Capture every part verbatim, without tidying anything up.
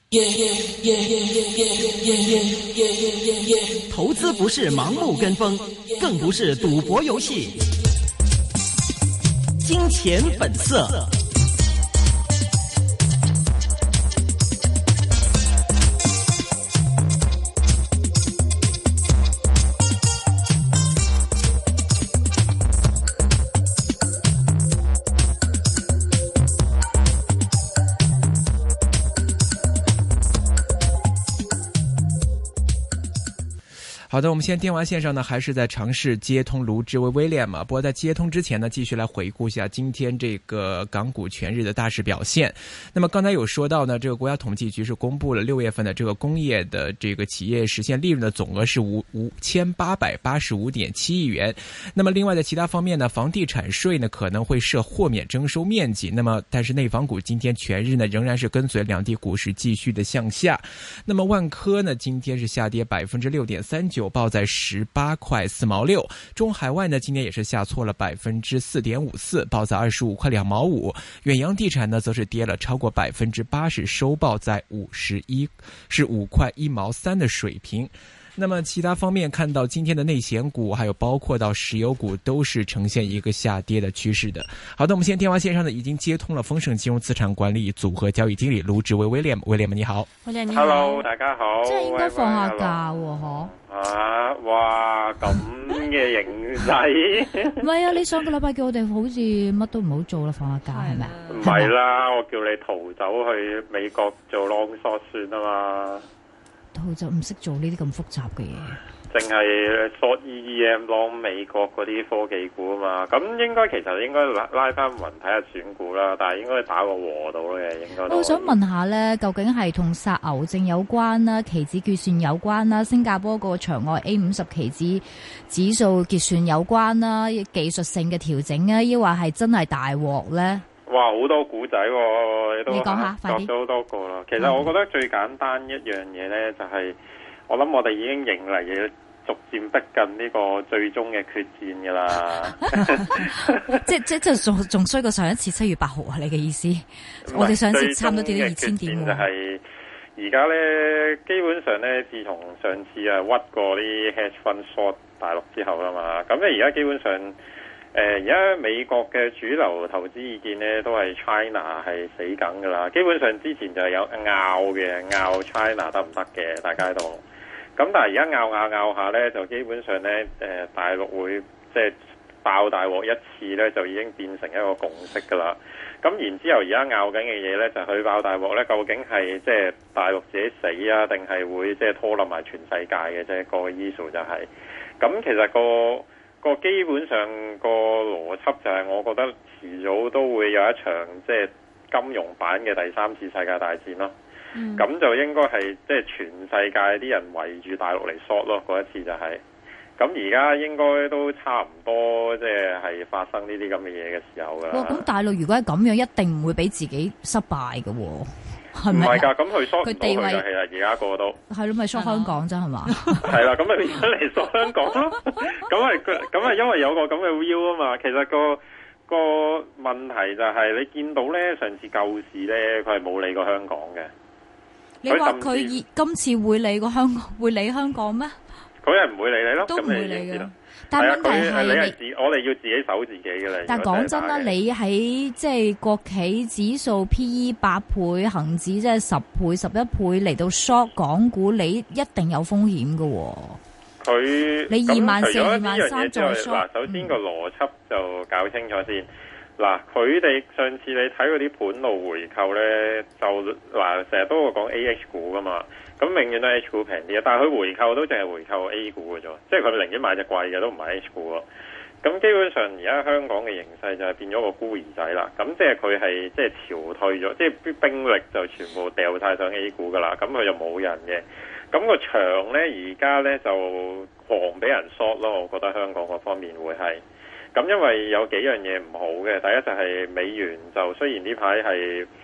投资不是盲目跟风，更不是赌博游戏。金钱本色。好的，我们现在电话线上呢，还是在尝试接通卢志威威廉嘛。不过在接通之前呢，继续来回顾一下今天这个港股全日的大市表现。那么刚才有说到呢，这个国家统计局是公布了六月份的这个工业的这个企业实现利润的总额是五五千八百八十五点七亿元。那么另外在其他方面呢，房地产税呢可能会设豁免征收面积。那么但是内房股今天全日呢仍然是跟随两地股市继续的向下。那么万科呢今天是下跌百分之六点三九。报在十八块四毛六，中海外呢今年也是下挫了百分之四点五四，报在二十五块两毛五。远洋地产呢则是跌了超过百分之八十，收报在五十一，是五块一毛三的水平。那么其他方面看到今天的内险股还有包括到石油股都是呈现一个下跌的趋势的。好的，我们现在电话线上呢已经接通了丰盛金融资产管理组合交易经理卢志威威廉，威廉你好。 威廉你好。 Hello 大家好。 即係應該放下假喎嗬。 啊，哇咁嘅形勢。 唔係啊，你上個禮拜叫我哋好似乜都唔好做啦，放下假係咪啊？ 唔係啦，我叫你逃走去美國做 long short 算啊嘛。 逃走唔識做呢啲咁複雜嘅嘢。 淨係 short E E M long 美國嗰啲科技股啊嘛，咁應該其實應該拉拉翻勻睇下選股啦，但係應該打個和到嘅應該。 我想問下咧，究竟係同殺牛證有關啦、期指結算有關啦、新加坡個場外 A 五十期指指數結算有關啦、技術性嘅調整啊，抑或係真係大鑊咧？ 哇，好多股仔喎，你都你講下，快啲。 咗好多個啦。其實我覺得最簡單一樣嘢咧，就係、是、我諗我哋已經迎嚟嘅逐漸逼近呢個最終嘅決戰㗎啦。 即即即仲仲衰過上一次七月八號啊！你嘅意思？我哋上次差唔多跌到二千點喎。 就係而家咧，基本上咧，自從上次啊屈過啲 hedge fund short 大陸之後啦嘛，咁咧而家基本上。誒而家美國嘅主流投資意見咧，都係 China 係死梗噶啦。基本上之前就係有拗嘅，拗 China 得唔得嘅，大家喺度。咁但係而家拗拗拗下咧，就基本上咧，誒、呃、大陸會即係爆大鑊一次咧，就已經變成一個共識噶啦。咁然之後而家拗緊嘅嘢咧，就佢爆大鑊咧，究竟係即係大陸自己死啊，定係會即係拖冧埋全世界嘅啫？個 issue 就係、是。咁其實個。個基本上個邏輯就係，我覺得遲早都會有一場即係金融版嘅第三次世界大戰咯。咁、嗯、就應該係即係全世界啲人圍住大陸嚟 short 咯，嗰一次就係、是。咁而家應該都差唔多，即係係發生呢啲咁嘅嘢嘅時候㗎啦。哇！ 咁大陸如果係咁樣，一定唔會俾自己失敗嘅喎。係咪？ 唔係㗎，咁佢 short 佢地位係啊，而家個個都係咯，咪 short 香港啫係嘛？ 係啦，咁咪變咗嚟 short 香港咯。咁係咁係因為有個咁嘅 view 啊嘛。其實個個問題就係你見到咧，上次救市咧，佢係冇理過香港嘅。 你話佢今次會理過香港，會理香港咩？佢係唔會理你咯， 都唔會理嘅。 但係問題係你係自，我哋要自己守自己嘅啦。 但係講真啦，你喺即係國企指數 P E 八倍，恒指即係十倍、十一倍嚟到 short 港股，你一定有風險嘅。佢你二萬四、二萬三再 short。 嗱，首先個邏輯就搞清楚先。嗱、嗯，佢哋上次你睇嗰啲盤路回購咧，就嗱成日都會講 A H 股噶嘛。咁永遠都 H 股平啲啊，但係佢回購都淨係回購 A 股嘅啫，即係佢寧願買隻貴嘅都唔係 H 股咯。咁基本上而家香港嘅形勢就係變咗個孤兒仔啦。咁即係佢係即係潮退咗，即係啲兵力就全部掉晒上 A 股噶啦。咁佢就冇人嘅。咁個場咧而家咧就狂俾人 short 咯，我覺得香港嗰方面會係。咁因為有幾樣嘢唔好嘅，第一就係美元就雖然呢排係。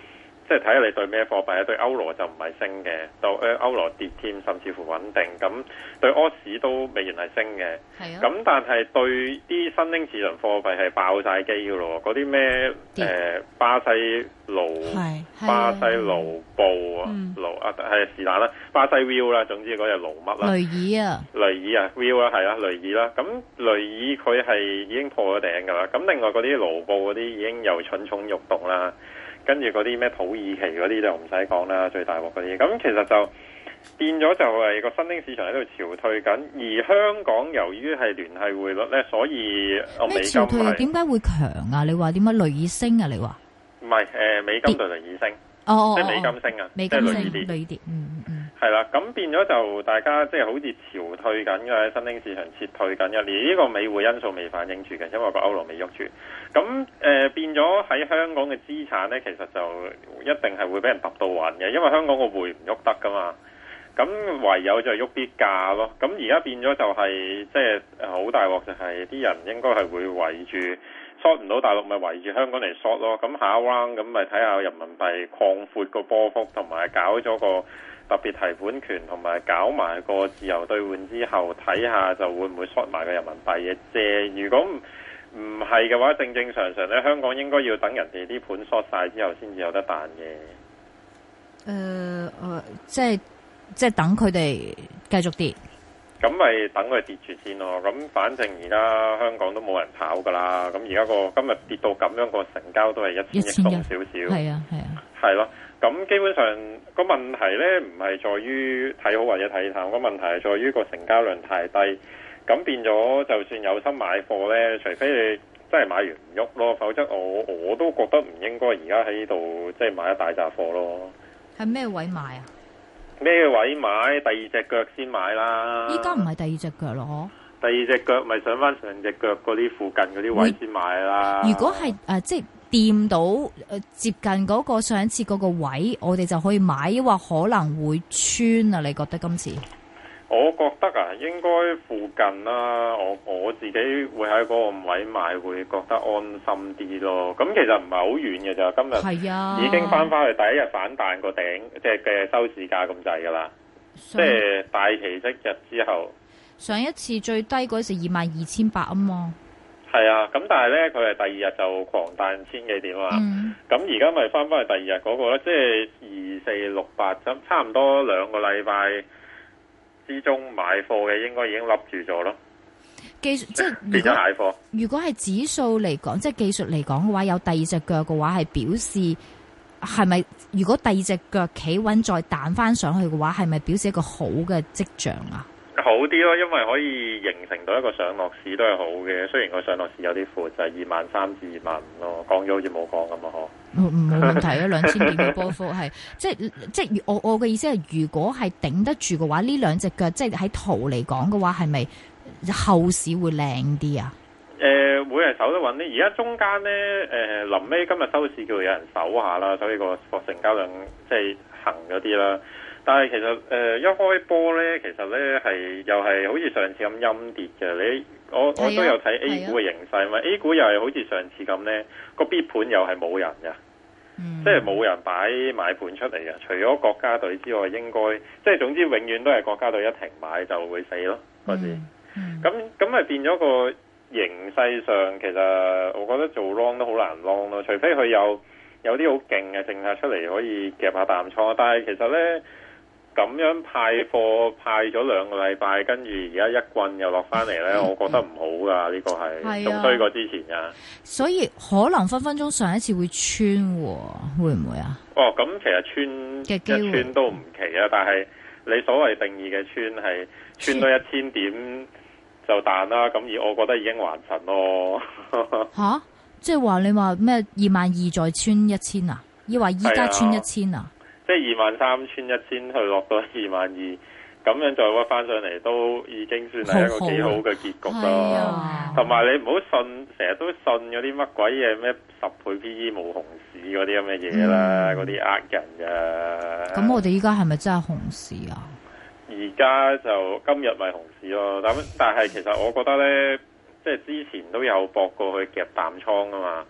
即係睇下你對咩貨幣，對歐羅就唔係升嘅，到誒歐羅跌添，甚至乎穩定。咁對柯市都美元係升嘅。係啊。咁但係對啲新興市場貨幣係爆晒機嘅咯，嗰啲咩誒巴西盧、巴西盧布啊、盧啊係是但啦，巴西 View 啦，總之嗰隻盧乜啦。雷爾啊。雷爾啊 View 啦，係啦，雷爾啦。咁雷爾佢係已經破咗頂㗎啦。咁另外嗰啲盧布嗰啲已經又蠢蠢欲動啦。跟住嗰啲咩土耳其嗰啲就唔使講啦，最大鑊嗰啲。咁其實就變咗就係個新興市場喺度潮退緊，而香港由於係聯繫匯率咧，所以咩潮退點解會強啊？你話點解雷爾升啊？你話唔係誒美金對雷爾升， 哦， 即係美金升啊， 美金升， 即係雷爾跌， 雷爾跌，嗯嗯。 係啦，咁變咗就大家即係好似潮退緊嘅，新興市場撤退緊嘅，連呢個美匯因素未反映住嘅，因為個歐羅未喐住。咁誒、呃、變咗喺香港嘅資產咧，其實就一定係會俾人揼到暈嘅，因為香港個匯唔喐得噶嘛。咁唯有就喐啲價咯。咁而家變咗就係、是、即係好大鑊，就係啲人應該係會圍住 short 唔到大陸，咪圍住香港嚟 short 咯。咁下一 round 咁咪睇下人民幣擴闊個波幅，同埋搞咗個特別提款權，同埋搞埋個自由兌換之後，睇下就會唔會 short 埋個人民幣嘅啫。如果唔唔係嘅話，正正常常咧，香港應該要等人哋啲盤 short 晒之後，先至有得彈嘅。誒、 呃、誒、呃，即係即係等佢哋繼續跌， 咁咪等佢跌住先咯。咁反正而家香港都冇人炒噶啦。咁而家個今日跌到咁樣，個成交都係一千億多少少。係啊係啊，係咯。咁基本上個問題咧，唔係在於睇好或者睇淡，個問題係在於個成交量太低。咁變咗，就算有心買貨咧，除非你真係買完唔喐咯，否則我我都覺得唔應該而家喺度即係買一大紮貨咯。 係咩位買啊？ 咩位買？第二隻腳先買啦。 依家唔係第二隻腳咯， 第二隻腳咪上翻上隻腳嗰啲附近嗰啲位先買啦。 如果係誒、呃、即係掂到誒、呃、接近嗰個上一次嗰個位，我哋就可以買，抑或可能會穿啊？你覺得今次？ 我覺得啊，應該附近啦，我我自己會喺嗰個位買，會覺得安心啲咯。咁其實唔係好遠嘅咋，今日已經翻翻去第一日反彈個頂，即係嘅收市價咁滯噶啦。即係大奇蹟日之後， 上一次最低嗰時二萬二千八啊嘛。 係啊，咁但係咧，佢係第二日就狂彈千幾點啊。咁而家咪翻翻去第二日嗰個咧，即係二四六八，咁差唔多兩個禮拜之中買貨嘅應該已經笠住咗咯。 技術即係變咗蟹貨。 如果係指數嚟講，即係技術嚟講嘅話，有第二隻腳嘅話，係表示係咪？如果第二隻腳企穩再彈翻上去嘅話，係咪表示一個好嘅跡象啊？ 好啲咯，因為可以形成到一個上落市都係好嘅。雖然個上落市有啲闊，就係二萬三至二萬五咯。講咗好似冇講咁啊，嗬。 唔冇問題啊，兩千點嘅波幅係即係即係我我嘅意思係，如果係頂得住嘅話，呢兩隻腳即係喺圖嚟講嘅話，係咪後市會靚啲啊？ 誒、呃，會係守得穩啲。而家中間咧，誒、呃，臨尾今日收市叫有人守下啦，所以個成交量即係行咗啲啦。但係其實誒、呃、一開波咧，其實咧係又係好似上次咁陰跌嘅。你我我都有睇 A 股嘅形勢嘛、啊、，A 股又係好似上次咁咧，個 B 盤又係冇人嘅、嗯，即係冇人擺買盤出嚟嘅。除咗國家隊之外，應該即係總之永遠都係國家隊一停買就會死咯嗰時。咁咁咪變咗個形勢上，其實我覺得做 long 都好難 long 咯。除非佢有有啲好勁嘅政策出嚟可以夾下淡倉，但係其實咧。咁樣派貨派咗兩個禮拜，跟住而家一棍又落翻嚟咧，我覺得唔好噶，呢、這個係仲衰過之前噶。所以可能分分鐘上一次會穿，會唔會啊？哦，咁其實穿一穿都唔奇啊，但係你所謂定義嘅穿係穿到一千點就彈啦，咁而我覺得已經還神咯。吓，即係話你話咩二萬二再穿一千啊？抑或依家穿一千啊？即係二萬三穿一千去落到二萬二，咁樣再屈翻上嚟都已經算係一個幾好嘅結局咯。同埋你唔好信，成日都信嗰啲乜鬼嘢咩十倍 P E 冇熊市嗰啲咁嘅嘢啦，嗰啲呃人噶。咁我哋依家係咪真係熊市啊？而家就今日咪熊市咯。咁但係其實我覺得咧，即係之前都有搏過去夾淡倉啊嘛。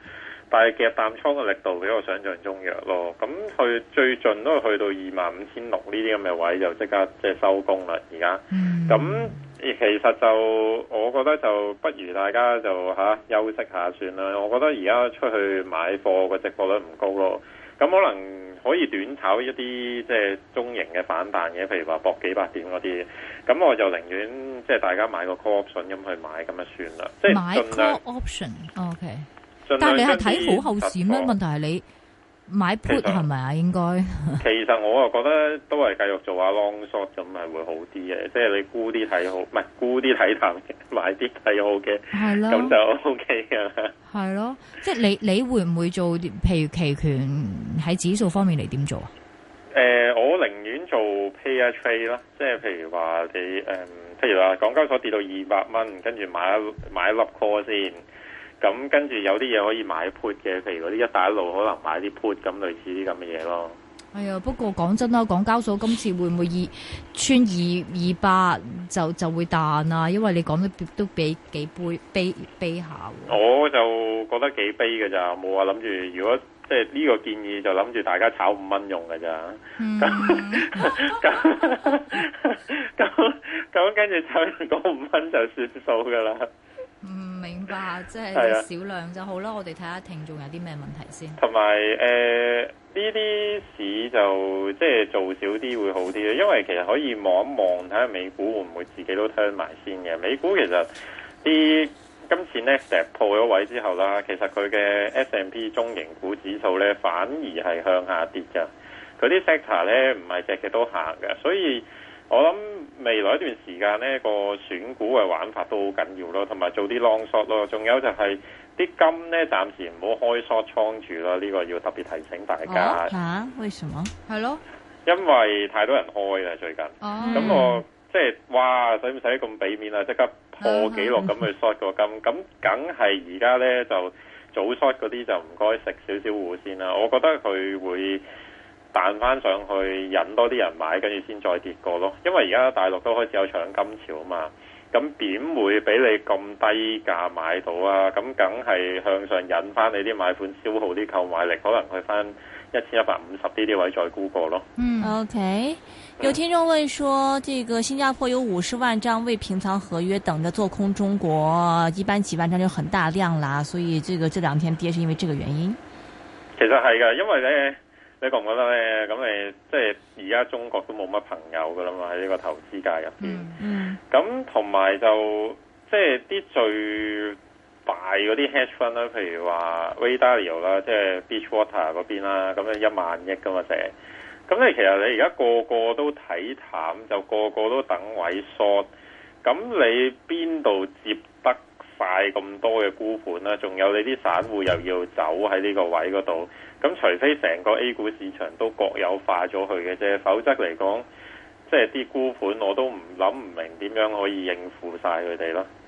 但係夾淡倉嘅力度比我想象中弱咯。咁去最盡都係去到二萬五千六呢啲咁嘅位就即刻即係收工啦。而家咁其實就我覺得就不如大家就吓、啊、休息下算啦。我覺得而家出去買貨個值博率唔高咯。咁可能可以短炒一啲即係中型嘅反彈嘅，譬如話搏幾百點嗰啲。咁我就寧願即係大家買個 call option 咁去買咁就算啦。即係買 call option，OK。但係你係睇好後市咩？問題係你買 put 係咪啊？應該其實我啊覺得都係繼續做下 long short 咁係會好啲嘅。即係你沽啲睇好，唔係沽啲睇淡嘅，買啲睇好嘅，係咯，咁就 OK 㗎啦。 係咯，即係你你會唔會做？譬如期權喺指數方面嚟點做啊？ 誒、呃，我寧願做 pay a trade 啦，即係譬如話你誒、呃，譬如話港交所跌到二百蚊，跟住買一買一粒 call 先。咁跟住有啲嘢可以買 put 嘅，譬如嗰啲一帶一路可能買啲 put 咁類似啲咁嘅嘢咯。係啊，不過講真啦，港交所今次會唔會二穿二二百就就會彈啊？因為你講得都比幾悲悲悲下。我就覺得幾悲嘅咋，冇話諗住如果即係呢個建議就諗住大家炒五蚊用嘅咋。咁咁咁咁跟住炒完嗰五蚊就算數噶啦。嗯，明白，即係少量就好啦。我哋睇下聽眾有啲咩問題先。同埋誒呢啲市就即係做少啲會好啲嘅，因為其實可以望一望睇下美股會唔會自己都 turn 埋先嘅。美股其實啲今次 Nasdaq 破咗位之後啦，其實佢嘅 S and P 中型股指數咧反而係向下跌㗎。佢啲 sector 咧唔係隻隻都行嘅，所以我諗未來一段時間呢個選股嘅玩法都好緊要咯，同埋做啲 long short 咯，仲有就係啲金呢暫時唔好開 short 倉住啦，呢個要特別提醒大家。吓、啊？為什麼？係咯，因為太多人開啦最近。哦。咁我即係哇，使唔使咁俾面啊？即刻破紀錄咁去 short 個金，咁梗係而家呢就早 short 嗰啲就唔該食少少糊先啦。我覺得佢會彈翻上去，引多啲人買，跟住先再跌過咯。因為而家大陸都開始有搶金潮啊嘛，咁點會俾你咁低價買到啊？咁梗係向上引翻你啲買款，消耗啲購買力，可能去翻一千一百五十呢啲位再沽過咯。嗯 ，OK。有聽眾問說，這個新加坡有五十萬張未平倉合約等着做空中國，一般幾萬張就很大量啦，所以這個這兩天跌是因為這個原因。 其實係噶，因為咧。你覺唔覺得咧？咁你即係而家中國都冇乜朋友噶啦嘛，喺呢個投資界入邊。嗯。咁同埋就即係啲最大嗰啲 hedge fund 啦，譬如話 Ray Dalio 啦，即係 Beachwater 嗰邊啦，咁樣一萬億噶嘛成。咁你其實你而家個個都睇淡，就個個都等位 short。咁你邊度接得快咁多嘅沽盤啦？仲有你啲散戶又要走喺呢個位嗰度。咁除非成個 A 股市場都國有化咗佢嘅啫，否則嚟講，即係啲沽盤我都唔諗唔明點樣可以應付晒佢哋咯。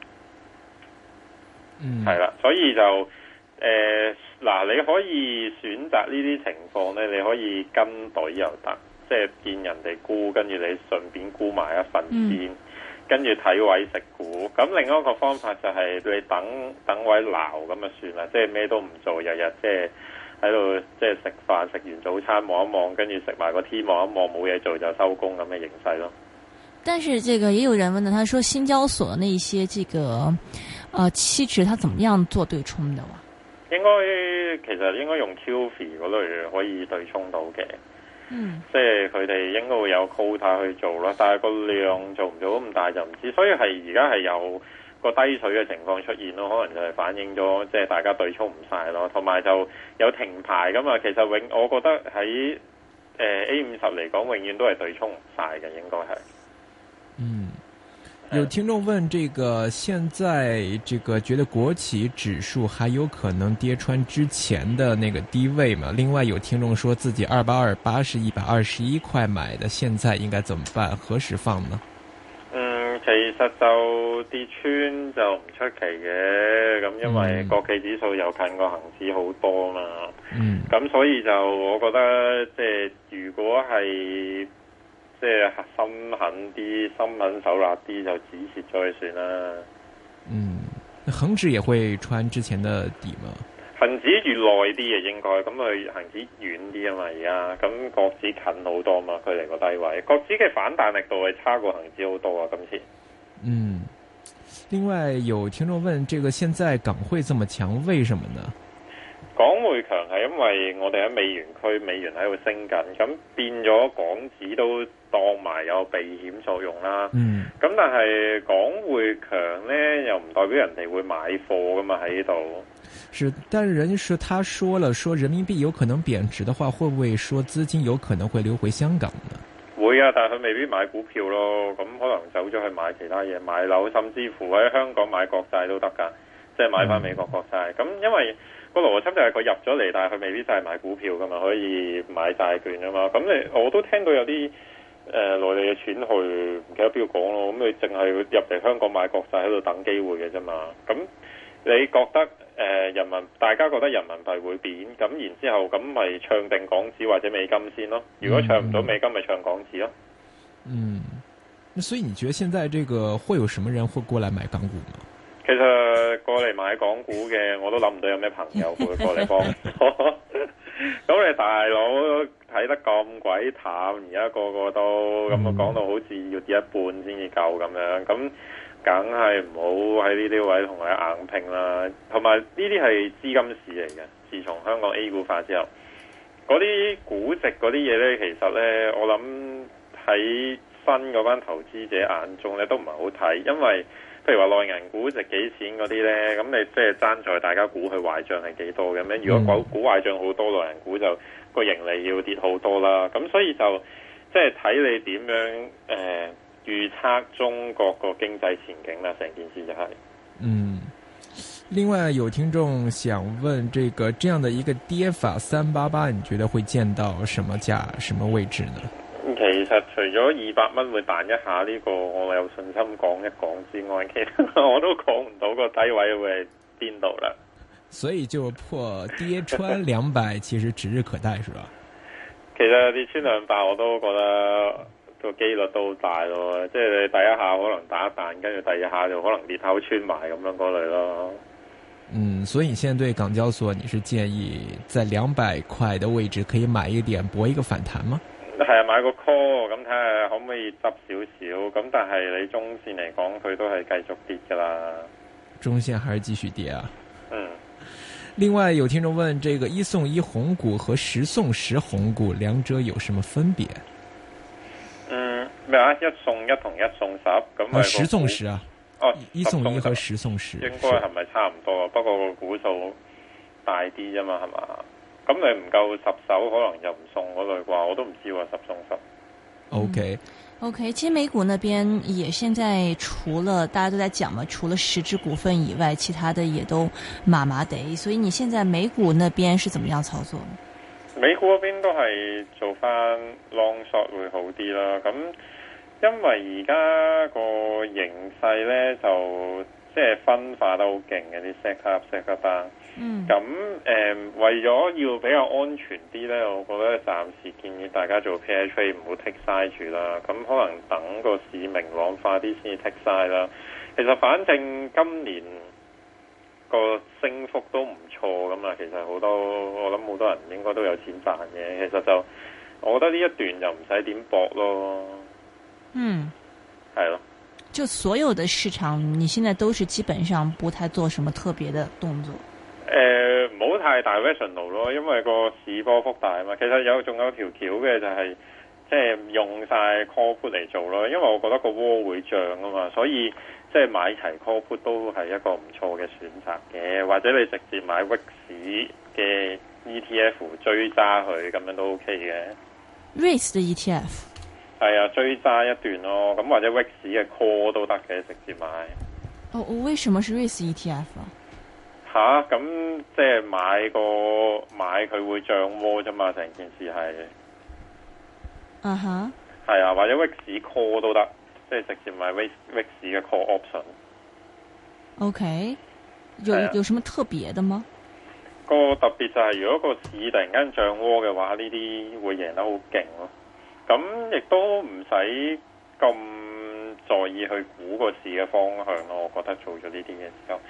嗯，係啦，所以就誒嗱、呃，你可以選擇呢啲情況咧，你可以跟隊又得，即係見人哋沽，跟住你順便沽埋一份先，跟住睇位食股。咁另外一個方法就係你等等位撈咁就算啦，即係咩都唔做，日日即係。喺度即係食飯，食完早餐望一望，跟住食埋個 tea 望一望，冇嘢做就收工咁嘅形勢咯。 但是這個也有人問呢，他說新交所那一些這個，呃期指，他怎麼樣做對沖的哇？ 應該其實應該用 Q F I 嗰類可以對沖到嘅。嗯，即係佢哋應該會有 quota 去做啦，但係個量做唔做咁大就唔知，所以係而家係有個低水嘅情況出現咯，可能就係反映咗即係大家對沖唔晒咯，同埋就有停牌噶嘛。其實永我覺得喺誒、呃、A 五十嚟講，永遠都係對沖唔晒嘅，應該係。 嗯，有聽眾問：這個現在這個覺得國企指數還有可能跌穿之前的那個低位嗎？另外有聽眾說自己二八二八是一百二十一塊買的，現在應該怎麼辦？何時放呢？ 其實就跌穿就唔出奇嘅，咁因為國企指數又近個恒指好多嘛，咁、嗯、所以就我覺得即係如果係即係心狠啲、心狠手辣啲，就止蝕再算啦。 嗯，恒指也會穿之前的底嗎？ 恒指越耐啲嘅應該，咁佢恒指遠啲啊嘛，而家咁國指近好多嘛，佢離個低位，國指嘅反彈力度係差過恒指好多啊，今次。 嗯，另外有聽眾問，這個現在港匯這麼強，為什麼呢？ 港匯強係因為我哋喺美元區，美元喺度升緊，咁變咗港紙都當埋有避險作用啦。 嗯， 咁但係港匯強呢，又唔代表人哋會買貨噶嘛喺呢度。 是，但是人家說他說了，說人民幣有可能貶值的話，會不會說資金有可能會流回香港呢？ 會啊，但係佢未必買股票咯，咁可能走咗去買其他嘢，買樓，甚至乎喺香港買國債都得噶，即係買翻美國國債。咁、嗯、因為個邏輯就係佢入咗嚟，但係佢未必真係買股票噶嘛，可以買債券啊嘛。咁你我都聽到有啲誒內地嘅錢去唔記得邊個講咯，咁你淨係入嚟香港買國債喺度等機會嘅啫嘛。咁你覺得誒、呃、人民大家覺得人民幣會貶，咁然之後咁咪唱定港紙或者美金先咯？如果唱唔到美金，咪唱港紙咯。 嗯，那所以你覺得現在這個會有什麼人會過來買港股嗎？ 其實過嚟買港股嘅，我都諗唔到有咩朋友會過嚟幫我。咁你大佬睇得咁鬼淡，而家個個都咁啊，講到好似要跌一半先至夠咁樣，咁梗係唔好喺呢啲位同佢硬拼啦。同埋呢啲係資金市嚟嘅，自從香港 A 股化之後，嗰啲估值嗰啲嘢呢，其實呢，我諗喺新嗰班投資者眼中呢，都唔係好睇，因為譬如話內銀估值幾錢嗰啲呢，咁你即係爭在大家估佢壞賬係幾多嘅咩？如果估估壞賬好多，內銀股就個盈利要跌好多啦。咁所以就即係睇你點樣誒、呃、預測中國個經濟前景啦。成件事就係、是、嗯。 另外有聽眾想問，這個這樣的一個跌法三八八，你覺得會見到什麼價、什麼位置呢？ 其實除咗二百蚊會彈一下呢個我有信心講一講之外，其實我都講唔到個低位會係邊度啦。 所以就破跌穿兩百，其實指日可待，是吧？ 其實跌穿兩百我都覺得個機率都好大咯，即係你第一下可能打一彈，跟住第二下就可能裂口穿埋咁樣嗰類咯。 嗯，所以你現在對港交所，你是建議在兩百塊的位置可以買一點搏一個反彈嗎？ 係啊，買個 call 咁睇下可唔可以執少少，咁但係你中線嚟講，佢都係繼續跌噶啦。 中線還是繼續跌啊？ 嗯。 另外有聽眾問，這個一送一紅股和十送十紅股兩者有什麼分別？ 嗯，咩啊？一送一同一送十咁啊？ 十送十啊？ 哦， 一送一和十送十， 應該係咪差唔多？不過個股數大啲啫嘛，係嘛？咁你唔夠十手，可能就唔送嗰類啩，我都唔知喎，十送十。 OK OK， 其實美股那邊也現在除了大家都在講嘛，除了十隻股份以外，其他的也都麻麻地。所以你現在美股那邊是怎麼樣操作呢？ 美股嗰邊都係做翻 long short 會好啲啦。咁因為而家個形勢咧就即係分化得好勁嘅啲 set up set up 單。嗯，咁誒、呃、為咗要比較安全啲咧，我覺得暫時建議大家做 pair trade 唔好 take side 住啦。咁可能等個市明朗化啲先至 take side 啦。其實反正今年個升幅都唔錯噶嘛，其實好多我諗好多人應該都有錢賺嘅。其實就我覺得呢一段就唔使點搏咯。嗯，係咯。 就所有的市場，你現在都是基本上不太做什麼特別的動作。 誒，唔好太 directional 咯，因為個市波幅大啊嘛。其實有仲有條橋嘅就係即係用晒 call put 嚟做咯，因為我覺得個窩會漲啊嘛，所以即係買齊 call put 都係一個唔錯嘅選擇嘅，或者你直接買 V I X 嘅 E T F 追揸佢咁樣都 OK 嘅。 V I X 嘅 E T F 係啊，追揸一段咯，咁或者 V I X 嘅 call 都得嘅，直接買。 哦，為什麼是 V I X E T F 啊？ 吓，咁即係買個買佢會漲窩啫嘛，成件事係。 啊哈。 係啊，或者 V I X call 都得，即係直接買 V I X 嘅 call option。 OK，有、啊、有什麼特別的嗎？ 個特別就係如果個市突然間漲窩嘅話，呢啲會贏得好勁咯。咁亦都唔使咁在意去估個市嘅方向咯。我覺得做咗呢啲嘅時候。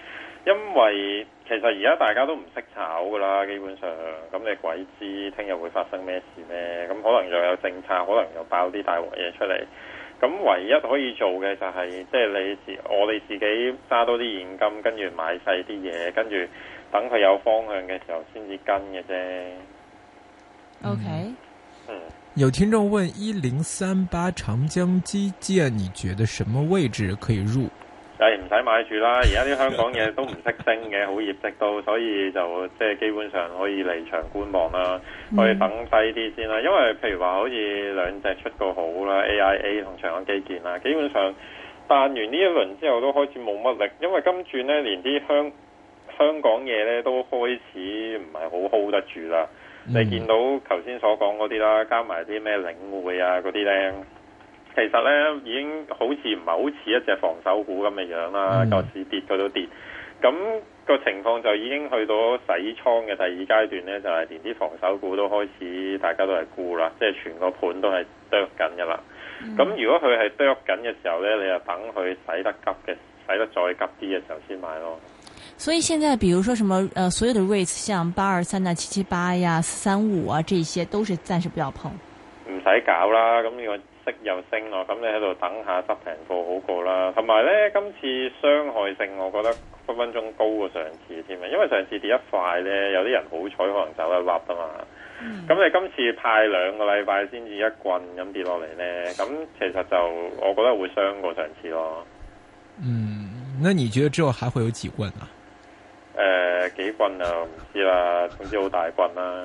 因為其實而家大家都唔識炒噶啦，基本上咁你鬼知聽日會發生咩事咩？咁可能又有政策，可能又爆啲大鑊嘢出嚟。咁唯一可以做嘅就係即係你自我哋自己揸多啲現金，跟住買細啲嘢，跟住等佢有方向嘅時候先至跟嘅啫。 OK， 嗯， 有聽眾問一零三八長江基建，你覺得什麼位置可以入？ 誒唔使買住啦，而家啲香港嘢都唔識升嘅，好業績都，所以就即係基本上可以離場觀望啦，可以等低啲先啦。因為譬如話好似兩隻出過好啦 ，A I A 同長江基建啦，基本上彈完呢一輪之後都開始冇乜力，因為今轉呢連啲香香港嘢呢都開始唔係好 hold 得住啦。嗯、你見到頭先所講嗰啲啦，加埋啲咩領匯啊嗰啲呢。其實咧已經好似唔係好似一隻防守股咁嘅樣啦，個市、嗯、跌佢都跌，咁、那個情況就已經去到洗倉嘅第二階段咧，就係、是、連啲防守股都開始大家都係沽啦，即係全個盤都係剁緊噶啦。咁、嗯、如果佢係剁緊嘅時候咧，你就等佢洗得急嘅，洗得再急啲嘅時候先買咯。 所以現在，比如說什麼，呃，所有的 REITs 像八二三啊、七七八呀、四三五啊，這些都是暫時不要碰。 唔使搞啦，咁呢個息又升咯，咁你喺度等下執平貨好過啦。同埋咧，今次傷害性我覺得分分鐘高過上次添啊，因為上次跌一塊咧，有啲人好彩可能走一粒啊嘛。咁、嗯、你今次派兩個禮拜先至一棍咁跌落嚟咧，咁其實就我覺得會傷過上次咯。 嗯，那你覺得之後還會有幾棍啊？ 誒、呃，幾棍啊？唔知啦，總之好大棍啦。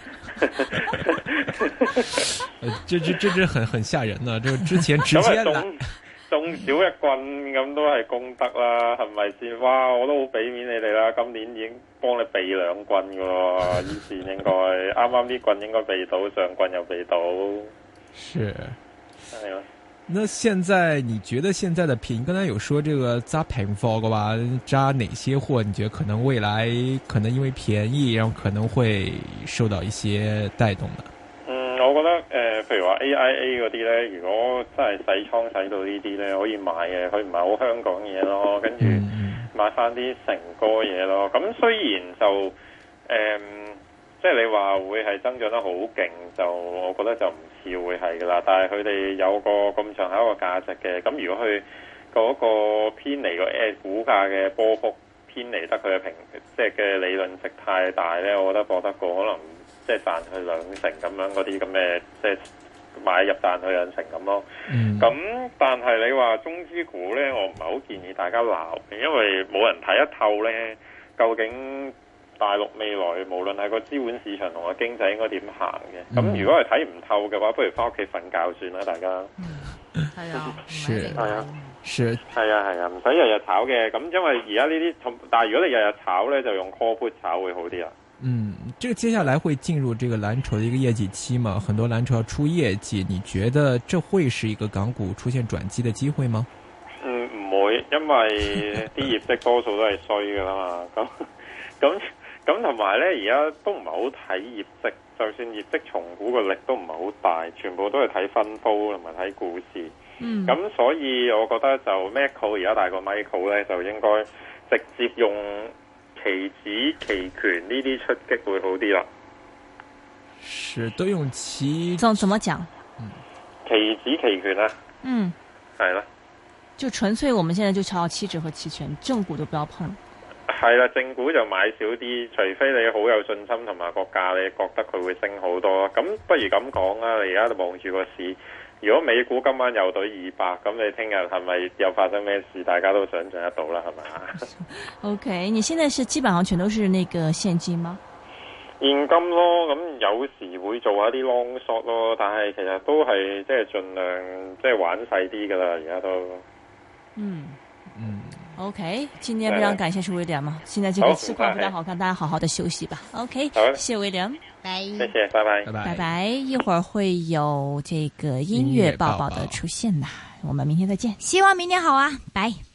呃，這這這這很很嚇人啊！就之前直接來中少一棍咁都係功德啦，係咪先？哇，我都好俾面你哋啦，今年已經幫你避兩棍噶喎，以前應該啱啱啲棍應該避到，上棍又避到。 是， 係咯。 那現在你覺得現在的平，剛才有說這個揸平貨嘅話，揸哪些貨？你覺得可能未來可能因為便宜，然後可能會受到一些帶動呢？ 嗯，我覺得誒、呃，譬如話 A I A 嗰啲咧，如果真係洗倉洗到呢啲咧，可以買嘅，佢唔係好香港嘢咯，跟住買翻啲成哥嘢咯。咁雖然就誒。呃即係你話會係增長得好勁，就我覺得就唔似會係噶啦。但係佢哋有個咁長一個價值嘅，咁如果佢嗰個偏離個誒股價嘅波幅偏離得佢嘅平，即係嘅理論值太大咧，我覺得博得過可能即係賺佢兩成咁樣嗰啲咁嘅，即係買入賺佢兩成咁咯。咁、嗯、但係你話中資股咧，我唔係好建議大家鬧嘅，因為冇人睇得透咧，究竟大陸未來無論係個資本市場同個經濟應該點行嘅？咁、嗯、如果係睇唔透嘅話，不如翻屋企瞓覺算啦，大家。 係啊， 是係啊， 是係啊係啊，唔使日日炒嘅。咁因為而家呢啲，但係如果你日日炒咧，就用 call put 炒會好啲啊。 嗯，這個接下來會進入這個藍籌的一個業績期嘛？很多藍籌要出業績，你覺得這會是一個港股出現轉機的機會嗎？ 嗯，唔會，因為啲業績多數都係衰噶啦嘛。咁咁。咁同埋咧，而家都唔係好睇業績，就算業績重估個力都唔係好大，全部都係睇分佈同埋睇故事。嗯，咁所以我覺得就 Macau 而家大過 Michael 咧，就應該直接用期指期權呢啲出擊會好啲啦。 是都用期？ 怎怎麼講？ 嗯，期指期權啊。 嗯， 係啦。 就純粹我們現在就炒期指和期權，正股都不要碰。 係啦，正股就買少啲，除非你好有信心同埋個價，你覺得佢會升好多。咁不如咁講啦，你而家望住個市，如果美股今晚又對二百，咁你聽日係咪又發生咩事？大家都想象得到啦，係咪 ？OK，你現在是基本上全都是那個現金嗎？ 現金咯，咁有時會做下啲 long shot 咯，但係其實都係即係盡量即係玩細啲噶啦，而家都嗯嗯。OK， 今天非常感謝是威廉嘛，現在這個市況非常好看，大家好好的休息吧。OK，謝謝威廉， 拜， 謝謝，拜拜， 拜拜。一會兒會有這個音樂報報的出現的，我們明天再見， 希望明天好啊，拜。